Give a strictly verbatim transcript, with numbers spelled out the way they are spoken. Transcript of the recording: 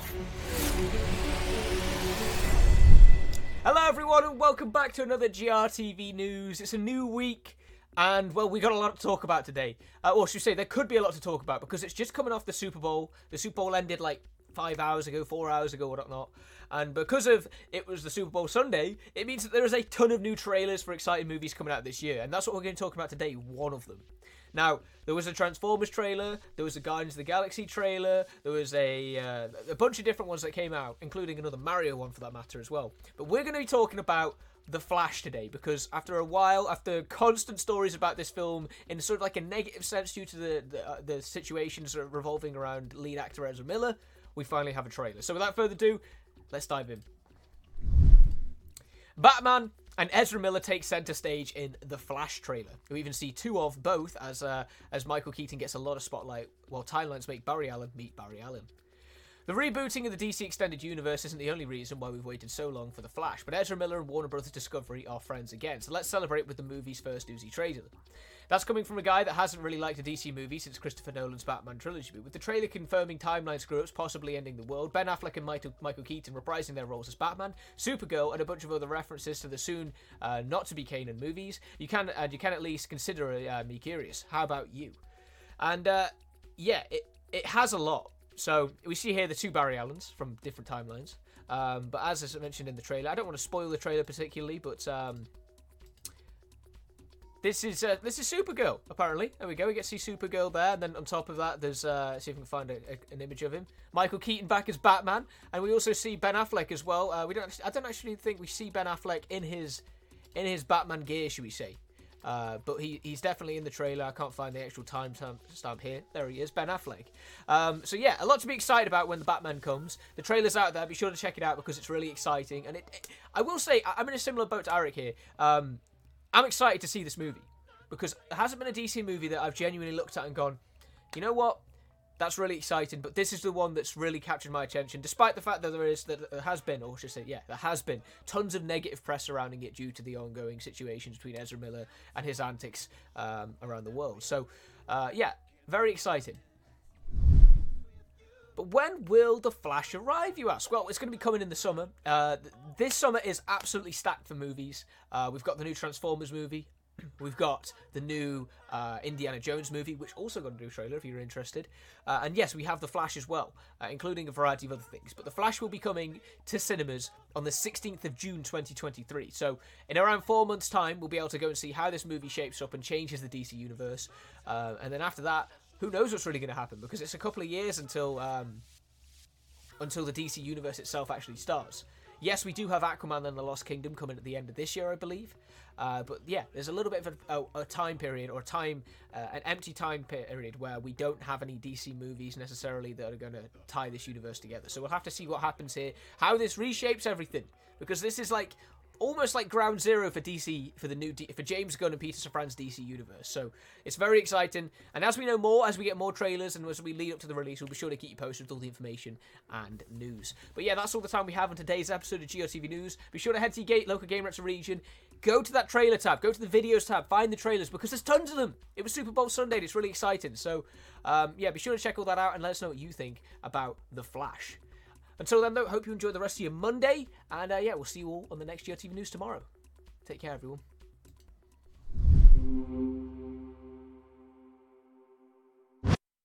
Hello everyone and welcome back to another G R T V news. It's a new week and, well, we got a lot to talk about today. Uh, or should I say, there could be a lot to talk about because it's just coming off the Super Bowl. The Super Bowl ended like five hours ago, four hours ago, or whatnot. And because of it was the Super Bowl Sunday, it means that there is a ton of new trailers for exciting movies coming out this year. And that's what we're going to talk about today, one of them. Now, there was a Transformers trailer, there was a Guardians of the Galaxy trailer, there was a uh, a bunch of different ones that came out, including another Mario one for that matter as well. But we're going to be talking about The Flash today, because after a while, after constant stories about this film in sort of like a negative sense due to the, the, uh, the situations revolving around lead actor Ezra Miller, we finally have a trailer. So without further ado, let's dive in. Batman and Ezra Miller take centre stage in The Flash trailer. We even see two of both as uh, as Michael Keaton gets a lot of spotlight, while timelines make Barry Allen meet Barry Allen. The rebooting of the D C Extended Universe isn't the only reason why we've waited so long for The Flash, but Ezra Miller and Warner Bros. Discovery are friends again, so let's celebrate with the movie's first newsy trailer. That's coming from a guy that hasn't really liked a D C movie since Christopher Nolan's Batman trilogy, but with the trailer confirming timeline screw-ups possibly ending the world, Ben Affleck and Michael, Michael Keaton reprising their roles as Batman, Supergirl, and a bunch of other references to the soon uh, not-to-be Kanan movies, you can and you can at least consider uh, me curious. How about you? And uh, yeah, it, it has a lot. So we see here the two Barry Allens from different timelines, um, but as I mentioned in the trailer, I don't want to spoil the trailer particularly, but um, This is uh, this is Supergirl, apparently. There we go, we get to see Supergirl there, and then on top of that, there's, uh, see if we can find a, a, an image of him. Michael Keaton back as Batman, and we also see Ben Affleck as well. Uh, we don't, actually, I don't actually think we see Ben Affleck in his in his Batman gear, should we say. Uh, but he, he's definitely in the trailer. I can't find the actual time stamp here. There he is, Ben Affleck. Um, so yeah, a lot to be excited about when the Batman comes. The trailer's out there. Be sure to check it out because it's really exciting. And it, it I will say, I'm in a similar boat to Eric here. Um, I'm excited to see this movie because there hasn't been a D C movie that I've genuinely looked at and gone, you know what? That's really exciting, but this is the one that's really captured my attention, despite the fact that there is, that there has been, or I should say, yeah, there has been tons of negative press surrounding it due to the ongoing situations between Ezra Miller and his antics um, around the world. So, uh, yeah, very exciting. But when will The Flash arrive, you ask? Well, it's going to be coming in the summer. Uh, th this summer is absolutely stacked for movies. Uh, we've got the new Transformers movie. We've got the new uh, Indiana Jones movie, which also got a new trailer if you're interested. Uh, and yes, we have The Flash as well, uh, including a variety of other things. But The Flash will be coming to cinemas on the sixteenth of June twenty twenty-three. So in around four months' time, we'll be able to go and see how this movie shapes up and changes the D C universe. Uh, and then after that, who knows what's really going to happen? Because it's a couple of years until um, until the D C universe itself actually starts. Yes, we do have Aquaman and the Lost Kingdom coming at the end of this year, I believe. Uh, but yeah, there's a little bit of a, a, a time period, or time, uh, an empty time period where we don't have any D C movies necessarily that are going to tie this universe together. So we'll have to see what happens here, how this reshapes everything. Because this is like almost like ground zero for D C, for the new D for James Gunn and Peter Safran's D C universe. So it's very exciting. And as we know more, as we get more trailers and as we lead up to the release, we'll be sure to keep you posted with all the information and news. But yeah, that's all the time we have on today's episode of G R T V News. Be sure to head to your local Game Reactor region. Go to that trailer tab. Go to the videos tab. Find the trailers because there's tons of them. It was Super Bowl Sunday and it's really exciting. So um, yeah, be sure to check all that out and let us know what you think about The Flash. Until then, though, hope you enjoy the rest of your Monday. And, uh, yeah, we'll see you all on the next G R T V News tomorrow. Take care, everyone.